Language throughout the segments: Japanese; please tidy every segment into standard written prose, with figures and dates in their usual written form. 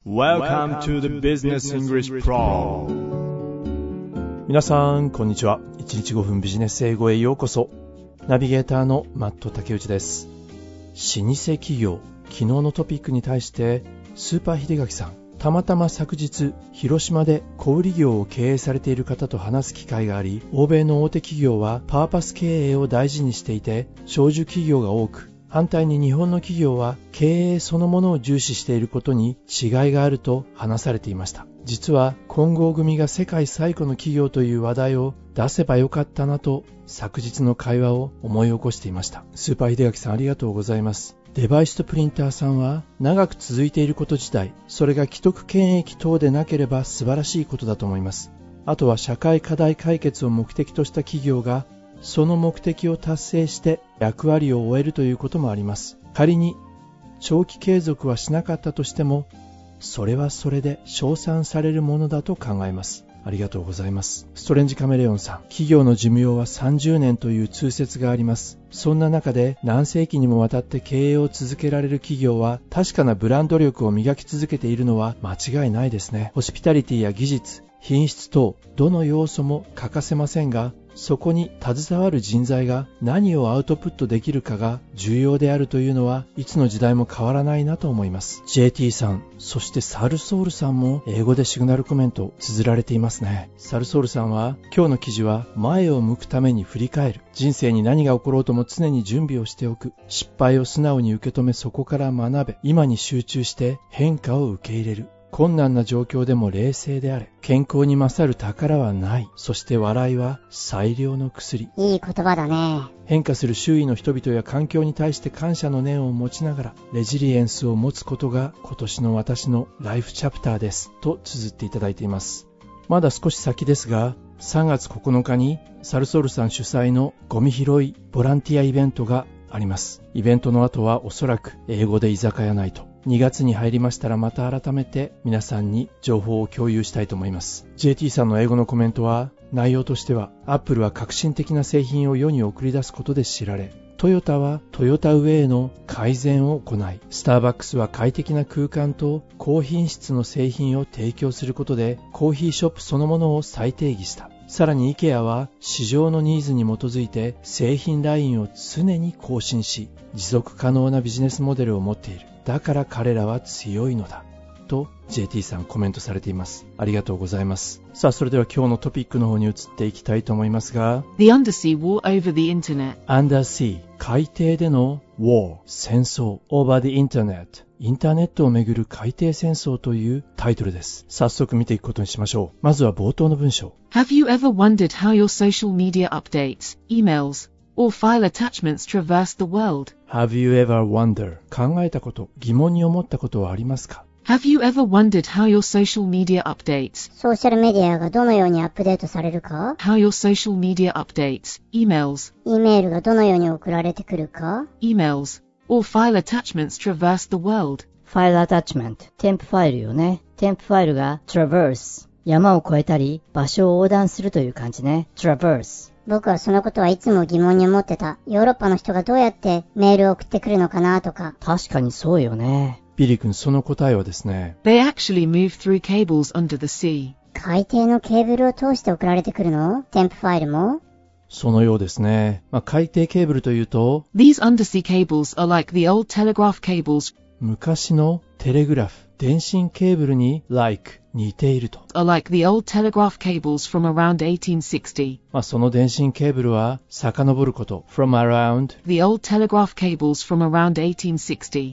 Welcome to the Business English Pro。 皆さんこんにちは。1日5分ビジネス英語へようこそ。ナビゲーターのマット竹内です。老舗企業、昨日のトピックに対してスーパー秀垣さん、たまたま昨日広島で小売業を経営されている方と話す機会があり、欧米の大手企業はパーパス経営を大事にしていて長寿企業が多く、反対に日本の企業は経営そのものを重視していることに違いがあると話されていました。実は金剛組が世界最古の企業という話題を出せばよかったなと昨日の会話を思い起こしていました。スーパー秀垣さん、ありがとうございます。デバイスとプリンターさんは長く続いていること自体、それが既得権益等でなければ素晴らしいことだと思います。あとは社会課題解決を目的とした企業がその目的を達成して役割を終えるということもあります。仮に長期継続はしなかったとしても、それはそれで称賛されるものだと考えます。ありがとうございます。ストレンジカメレオンさん、企業の寿命は30年という通説があります。そんな中で何世紀にもわたって経営を続けられる企業は確かなブランド力を磨き続けているのは間違いないですね。ホスピタリティや技術、品質等どの要素も欠かせませんが、そこに携わる人材が何をアウトプットできるかが重要であるというのはいつの時代も変わらないなと思います。 JT さん、そしてサルソールさんも英語でシグナルコメントを綴られていますね。サルソールさんは、今日の記事は前を向くために振り返る、人生に何が起ころうとも常に準備をしておく、失敗を素直に受け止めそこから学べ、今に集中して変化を受け入れる、困難な状況でも冷静であれ、健康に勝る宝はない、そして笑いは最良の薬。 いい言葉だね。 変化する周囲の人々や環境に対して感謝の念を持ちながらレジリエンスを持つことが今年の私のライフチャプターですと綴っていただいています。まだ少し先ですが、3月9日にサルソールさん主催のゴミ拾いボランティアイベントがあります。イベントの後はおそらく英語で居酒屋ナイト。2月に入りましたらまた改めて皆さんに情報を共有したいと思います。 JT さんの英語のコメントは、内容としては Apple は革新的な製品を世に送り出すことで知られ、トヨタはトヨタウェイの改善を行い、スターバックスは快適な空間と高品質の製品を提供することでコーヒーショップそのものを再定義した。さらに IKEA は市場のニーズに基づいて製品ラインを常に更新し、持続可能なビジネスモデルを持っている。だから彼らは強いのだと JT さんコメントされています。ありがとうございます。さあ、それでは今日のトピックの方に移っていきたいと思いますが、 The Undersea War Over the Internet。 Undersea、 海底での War、 戦争 Over the Internet、 インターネットをめぐる海底戦争というタイトルです。早速見ていくことにしましょう。まずは冒頭の文章。 Have you ever wondered how your social media updates, emails, or file attachments traverse the world? Have you ever wondered、 考えたこと、疑問に思ったことはありますか？ Have you ever wondered how your social media updates, ソーシャルメディアがどのようにアップデートされるか、 how your social media updates, emails, E メールがどのように送られてくるか、 emails, or file attachments traverse the world? ファイルアタッチメント、添付ファイルよね。添付ファイルが traverse、 山を越えたり場所を横断するという感じね。 traverse。 僕はそのことはいつも疑問に思ってた。ヨーロッパの人がどうやってメールを送ってくるのかなとか。 確かにそうよね。 ビリー君、その答えはですね、 They actually move through cables under the sea. 海底のケーブルを通して送られてくるの？添付ファイルも？ そのようですね。海底ケーブルというと、 These undersea cables are like the old telegraph cables, 昔のテレグラフ、電信ケーブルに like 似ていると。 are like the old telegraph cables from around 1860. その電信ケーブルは遡ること from around、 The old telegraph cables from around 1860.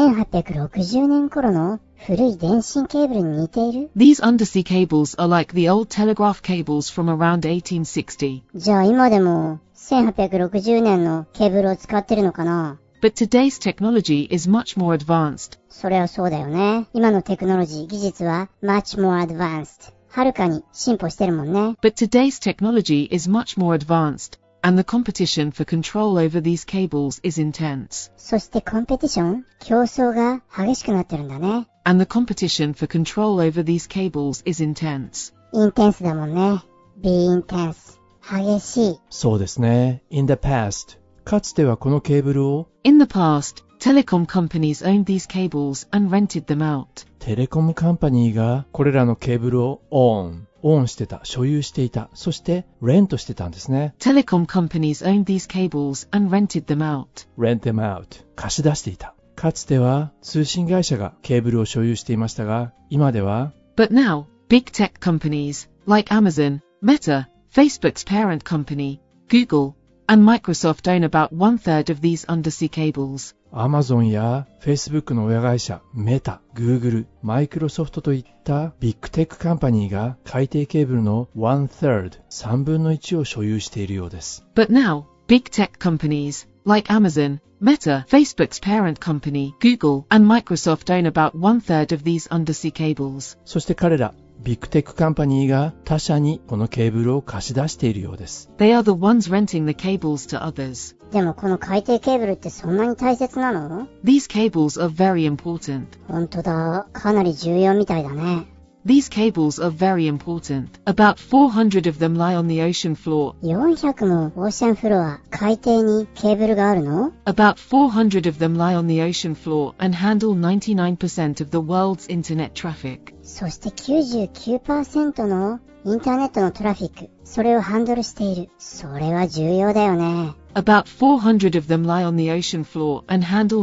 1860年頃の古い電信ケーブルに似ている？ These undersea cables are like the old telegraph cables from around 1860. じゃあ今でも1860年のケーブルを使ってるのかな？ But today's technology is much more advanced. それはそうだよね。今のテクノロジー、技術は much more advanced。はるかに進歩してるもんね。 But today's technology is much more advanced, and the competition for control over these cables is intense. そしてコンペティション、競争が激しくなってるんだね。 And the competition for control over these cables is intense. インテンスだもんね。be intense。激しい。 そうですね。in the past、かつてはこのケーブルを In the past, telecom companies owned these cables and rented them out. テレコムカンパニーがこれらのケーブルをオンしてた、所有していた、そしてレントしてたんですね。 Telecom companies owned these cables and rented them out. rent them out 貸し出していた。かつては通信会社がケーブルを所有していましたが、今では But now, big tech companies, like Amazon, Meta, Facebook's parent company, Google, and Microsoft own about 1/3 of these undersea cables. Amazon や Facebook の親会社、メタ、Google、Microsoft といったビッグテックカンパニーが海底ケーブルの 1/3、3分の1を所有しているようです。 But now, big tech companies, like Amazon, Meta, Facebook's parent company, Google, and Microsoft own about 1/3 of these undersea cables. そして彼ら、ビッグテックカンパニーが他社にこのケーブルを貸し出しているようです。 They are the ones renting the cables to others. でもこの海底ケーブルってそんなに大切なの？ These cables are very important. 本当だ、かなり重要みたいだね。 These cables are very important. About 400 of them lie on the ocean floor. 400もオーシャンフロア、海底にケーブルがあるの？ About 400 of them lie on the ocean floor and handle 99% of the world's internet traffic. そして 99% のインターネットのトラフィック、それをハンドルしている。それは重要だよね。 About 400 of them lie on the ocean floor and handle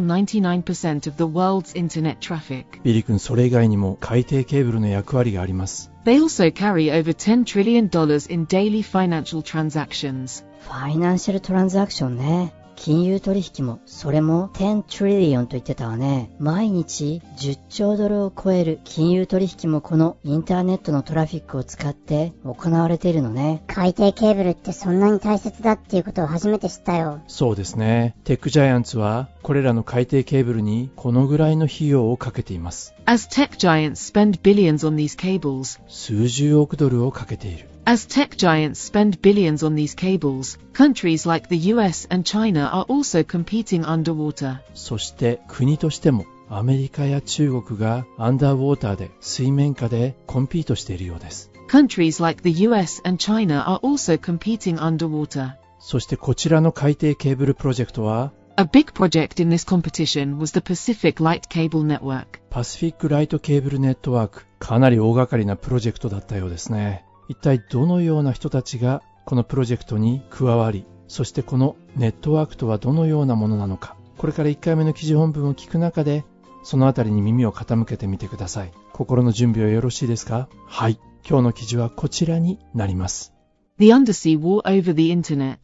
99% of the world's internet traffic. ビリ君、それ以外にも海底ケーブルの役割があります。 They also carry over $10 trillion in daily financial transactions. ファイナンシャルトランザクションね。金融取引も、それも10 trillion と言ってたわね。毎日10兆ドルを超える金融取引もこのインターネットのトラフィックを使って行われているのね。 海底ケーブルってそんなに大切だっていうことを初めて知ったよ。 そうですね。テックジャイアンツはこれらの海底ケーブルにこのぐらいの費用をかけています。 As tech giants spend billions on these cables, 数十億ドルをかけている。 As tech giants spend billions on these cables, countries like the US and China are also competing underwater. そして国としてもアメリカや中国がアンダーウォーターで水面下でコンピートしているようです。 Countries like the US and China are also competing underwater. そしてこちらの海底ケーブルプロジェクトは A big project in this competition was the Pacific Light Cable Network. パシフィックライトケーブルネットワーク。かなり大掛かりなプロジェクトだったようですね。一体どのような人たちがこのプロジェクトに加わり、そしてこのネットワークとはどのようなものなのか、これから1回目の記事本文を聞く中でそのあたりに耳を傾けてみてください。心の準備はよろしいですか？はい。今日の記事はこちらになります。 The Undersea War over the Internet.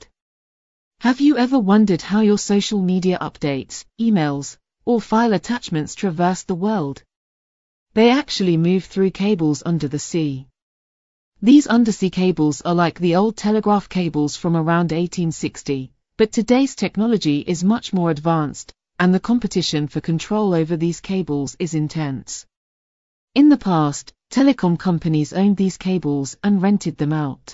Have you ever wondered how your social media updates, emails, or file attachments traverse the world? They actually move through cables under the sea. These undersea cables are like the old telegraph cables from around 1860, but today's technology is much more advanced, and the competition for control over these cables is intense. In the past, telecom companies owned these cables and rented them out.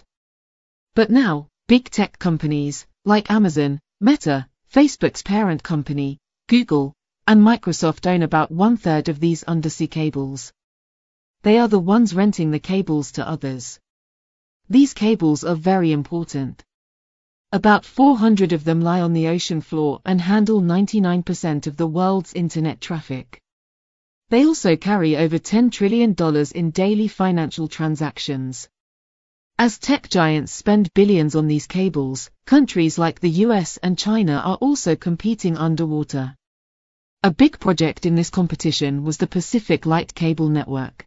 But now, big tech companies, like Amazon, Meta, Facebook's parent company, Google, and Microsoft own about 1/3 of these undersea cables. They are the ones renting the cables to others. These cables are very important. About 400 of them lie on the ocean floor and handle 99% of the world's internet traffic. They also carry over $10 trillion in daily financial transactions. As tech giants spend billions on these cables, countries like the US and China are also competing underwater. A big project in this competition was the Pacific Light Cable Network.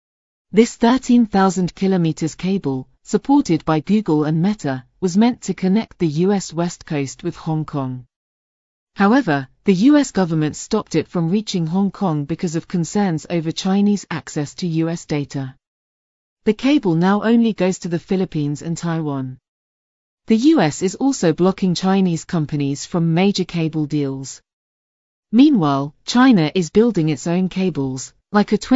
This 13,000 kilometers cable, supported by Google and Meta, was meant to connect the US West Coast with Hong Kong. However, the US government stopped it from reaching Hong Kong because of concerns over Chinese access to US data. The cable now only goes to the Philippines and Taiwan. The US is also blocking Chinese companies from major cable deals. Meanwhile, China is building its own cables, like a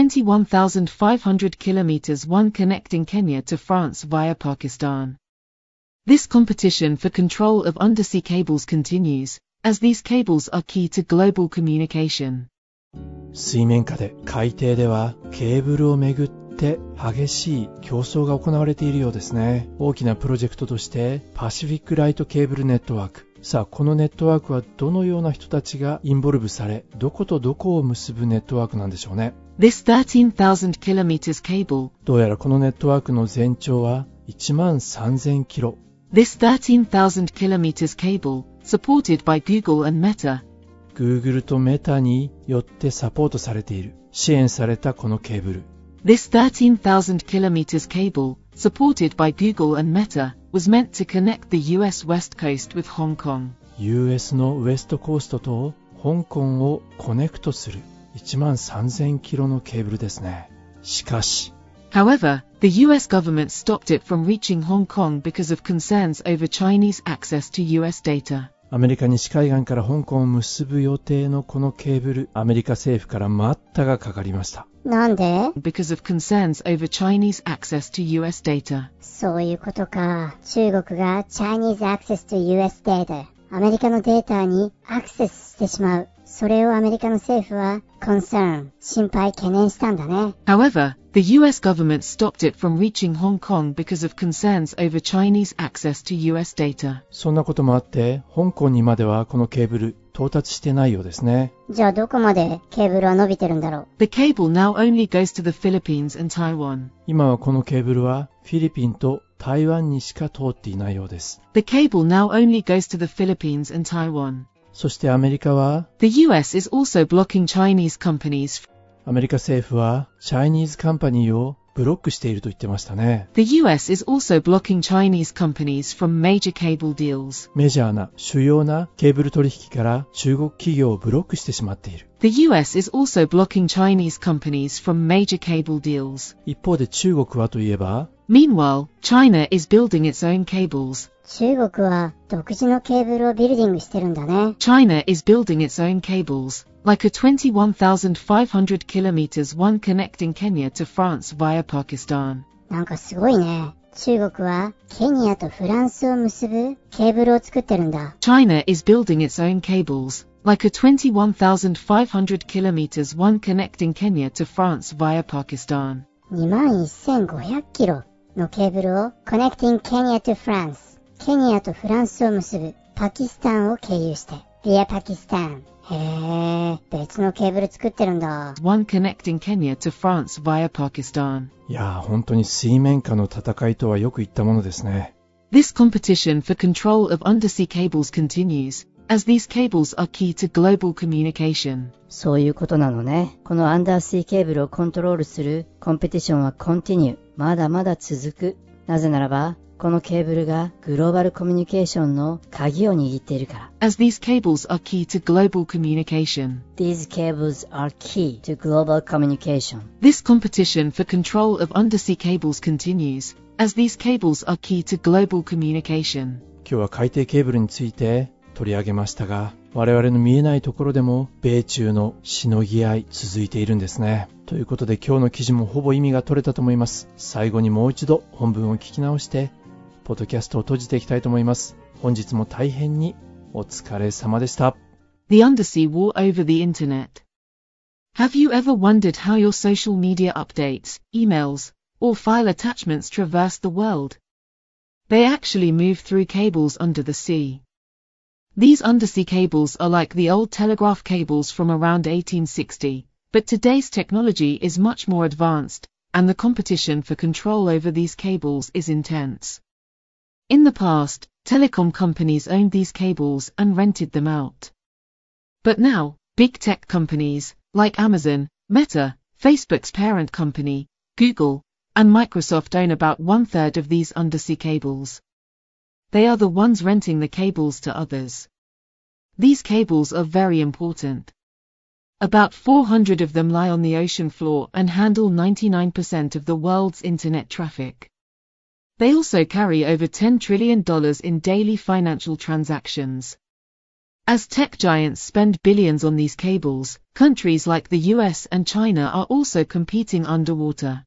21,500 kilometers one connecting Kenya to France via Pakistan. This competition for control of undersea cables continues, as these cables are key to global communication. 水面下で海底ではケーブルをめぐって激しい競争が行われているようですね。大きなプロジェクトとしてパシフィックライトケーブルネットワーク、 さあ、このネットワークはどのような人たちがインボルブされ、どことどこを結ぶネットワークなんでしょうね。 This 13,000 kilometers cable. どうやらこのネットワークの全長は13,000キロ。 This 13,000 kilometers cable, supported by Google and Meta. Google と Meta によってサポートされている、支援されたこのケーブル。 This 13,000 kilometers cable, supported by Google and Meta, was meant to connect the US West Coast with Hong Kong. US のウエストコーストと香港をコネクトする13,000キロのケーブルですね。しかし、 However, the US government stopped it from reaching Hong Kong because of concerns over Chinese access to US data. アメリカ西海岸から香港を結ぶ予定のこのケーブル、アメリカ政府から待ったがかかりました。 なんで？ Because of concerns over Chinese access to US data. そういうことか。中国が Chinese access to US data、アメリカのデータにアクセスしてしまう。それをアメリカの政府は concern、心配、懸念したんだね。 However, the US government stopped it from reaching Hong Kong because of concerns over Chinese access to US data. そんなこともあって、香港にまではこのケーブル到達してないようですね。 じゃあどこまでケーブルは伸びてるんだろう。 The cable now only goes to the Philippines and Taiwan. 今はこのケーブルはフィリピンと台湾にしか通っていないようです。 The cable now only goes to the Philippines and Taiwan. そしてアメリカは、 The US is also blocking Chinese companies. アメリカ政府はチャイニーズカンパニーをブロックしていると言ってましたね。 The US is also blocking Chinese companies from major cable deals. メジャーな主要なケーブル取引から中国企業をブロックしてしまっている。 The US is also blocking Chinese companies from major cable deals. 一方で中国はといえば、 Meanwhile, China is building its own cables. 中国は独自のケーブルをビルディングしてるんだね。 China is building its own cables, like a 21,500 kilometers one connecting Kenya to France via Pakistan. なんかすごいね。中国はケニアとフランスを結ぶケーブルを作ってるんだ。 China is building its own cables, like a 21,500 kilometers one connecting Kenya to France via Pakistan. 21,500キロのケーブルを Connecting Kenya to France、ケニアとフランスを結ぶパキスタンを経由して Via パキスタン。へー、別のケーブル作ってるんだ。 One connecting Kenya to France via Pakistan. いやー、本当に水面下の戦いとはよく言ったものですね。 This competition for control of undersea cables continues, as these cables are key to global communication. そういうことなのね。このアンダーシーケーブルをコントロールするコンペティションはコンティニュー。まだまだ続く。なぜならば、このケーブルがグローバルコミュニケーションの鍵を握っているから。 As these cables are key to global communication. These cables are key to global communication. This competition for control of undersea cables continues, as these cables are key to global communication. 今日は海底ケーブルについて取り上げましたが、我々の見えないところでも米中のしのぎ合い続いているんですね。ということで今日の記事もほぼ意味が取れたと思います。最後にもう一度本文を聞き直してポッドキャストを閉じていきたいと思います。本日も大変にお疲れ様でした。 The undersea war over the internet. Have you ever wondered how your social media updates, emails, or file attachments traverse the world? They actually move through cables under the sea. These undersea cables are like the old telegraph cables from around 1860, but today's technology is much more advanced, and the competition for control over these cables is intense. In the past, telecom companies owned these cables and rented them out. But now, big tech companies, like Amazon, Meta, Facebook's parent company, Google, and Microsoft own about 1/3 of these undersea cables. They are the ones renting the cables to others. These cables are very important. About 400 of them lie on the ocean floor and handle 99% of the world's internet traffic. They also carry over $10 trillion in daily financial transactions. As tech giants spend billions on these cables, countries like the US and China are also competing underwater.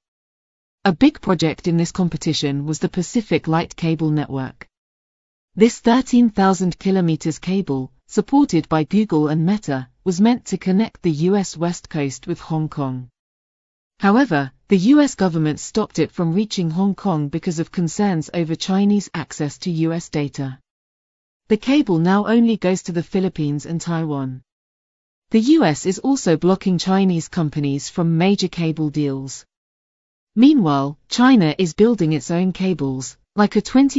A big project in this competition was the Pacific Light Cable Network. This 13,000 kilometers cable, supported by Google and Meta, was meant to connect the US West Coast with Hong Kong. However, the US government stopped it from reaching Hong Kong because of concerns over Chinese access to US data. The cable now only goes to the Philippines and Taiwan. The US is also blocking Chinese companies from major cable deals. Meanwhile, China is building its own cables, like a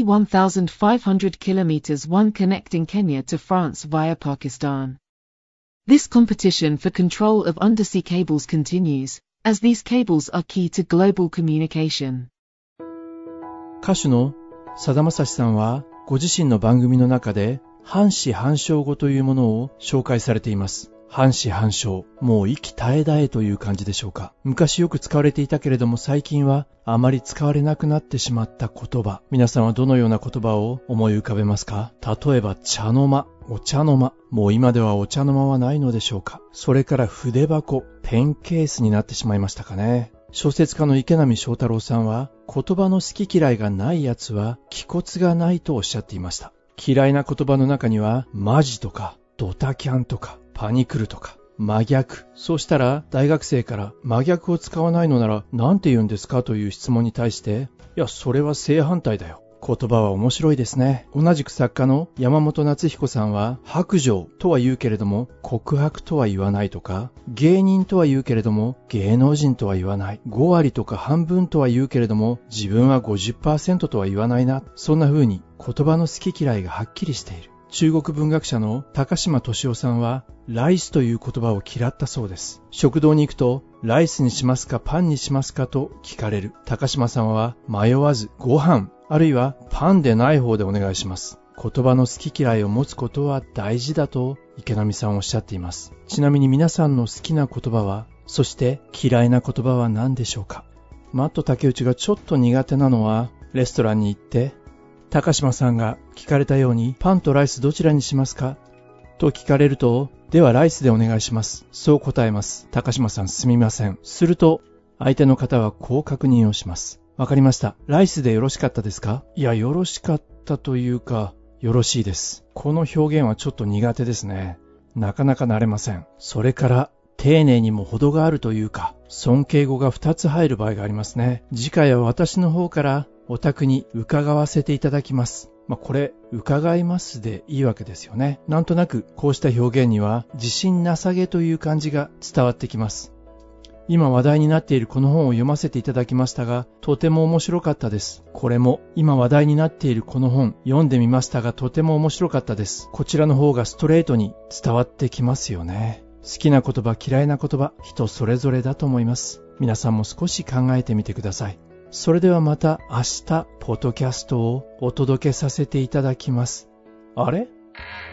21,500 kilometers one connecting Kenya to France via Pakistan. This competition for control of undersea cables continues, as these cables are key to global communication. 歌手のさだまさしさんはご自身の番組の中で半死半生語というものを紹介されています。半死半生、もう息絶え絶えという感じでしょうか。昔よく使われていたけれども最近はあまり使われなくなってしまった言葉。皆さんはどのような言葉を思い浮かべますか？例えば茶の間、お茶の間。もう今ではお茶の間はないのでしょうか。それから筆箱、ペンケースになってしまいましたかね。小説家の池波正太郎さんは言葉の好き嫌いがないやつは気骨がないとおっしゃっていました。嫌いな言葉の中にはマジとかドタキャンとかパニクルとか真逆。そうしたら大学生から真逆を使わないのなら何て言うんですかという質問に対して、いやそれは正反対だよ。言葉は面白いですね。同じく作家の山本夏彦さんは白状とは言うけれども告白とは言わないとか、芸人とは言うけれども芸能人とは言わない、5割とか半分とは言うけれども自分は 50% とは言わないな。そんな風に言葉の好き嫌いがはっきりしている。中国文学者の高島敏夫さんはライスという言葉を嫌ったそうです。食堂に行くとライスにしますかパンにしますかと聞かれる。高島さんは迷わずご飯あるいはパンでない方でお願いします。言葉の好き嫌いを持つことは大事だと池波さんおっしゃっています。ちなみに皆さんの好きな言葉は、そして嫌いな言葉は何でしょうか。マット竹内がちょっと苦手なのは、レストランに行って高島さんが聞かれたようにパンとライスどちらにしますかと聞かれると、ではライスでお願いします。そう答えます。高島さんすみません。すると相手の方はこう確認をします。わかりました。ライスでよろしかったですか？いや、よろしかったというか、よろしいです。この表現はちょっと苦手ですね。なかなか慣れません。それから丁寧にも程があるというか、尊敬語が2つ入る場合がありますね。次回は私の方からお宅に伺わせていただきます。これ伺いますでいいわけですよね。なんとなくこうした表現には自信なさげという感じが伝わってきます。今話題になっているこの本を読ませていただきましたが、とても面白かったです。これも今話題になっているこの本読んでみましたが、とても面白かったです。こちらの方がストレートに伝わってきますよね。好きな言葉嫌いな言葉、人それぞれだと思います。皆さんも少し考えてみてください。それではまた明日ポッドキャストをお届けさせていただきます。あれ？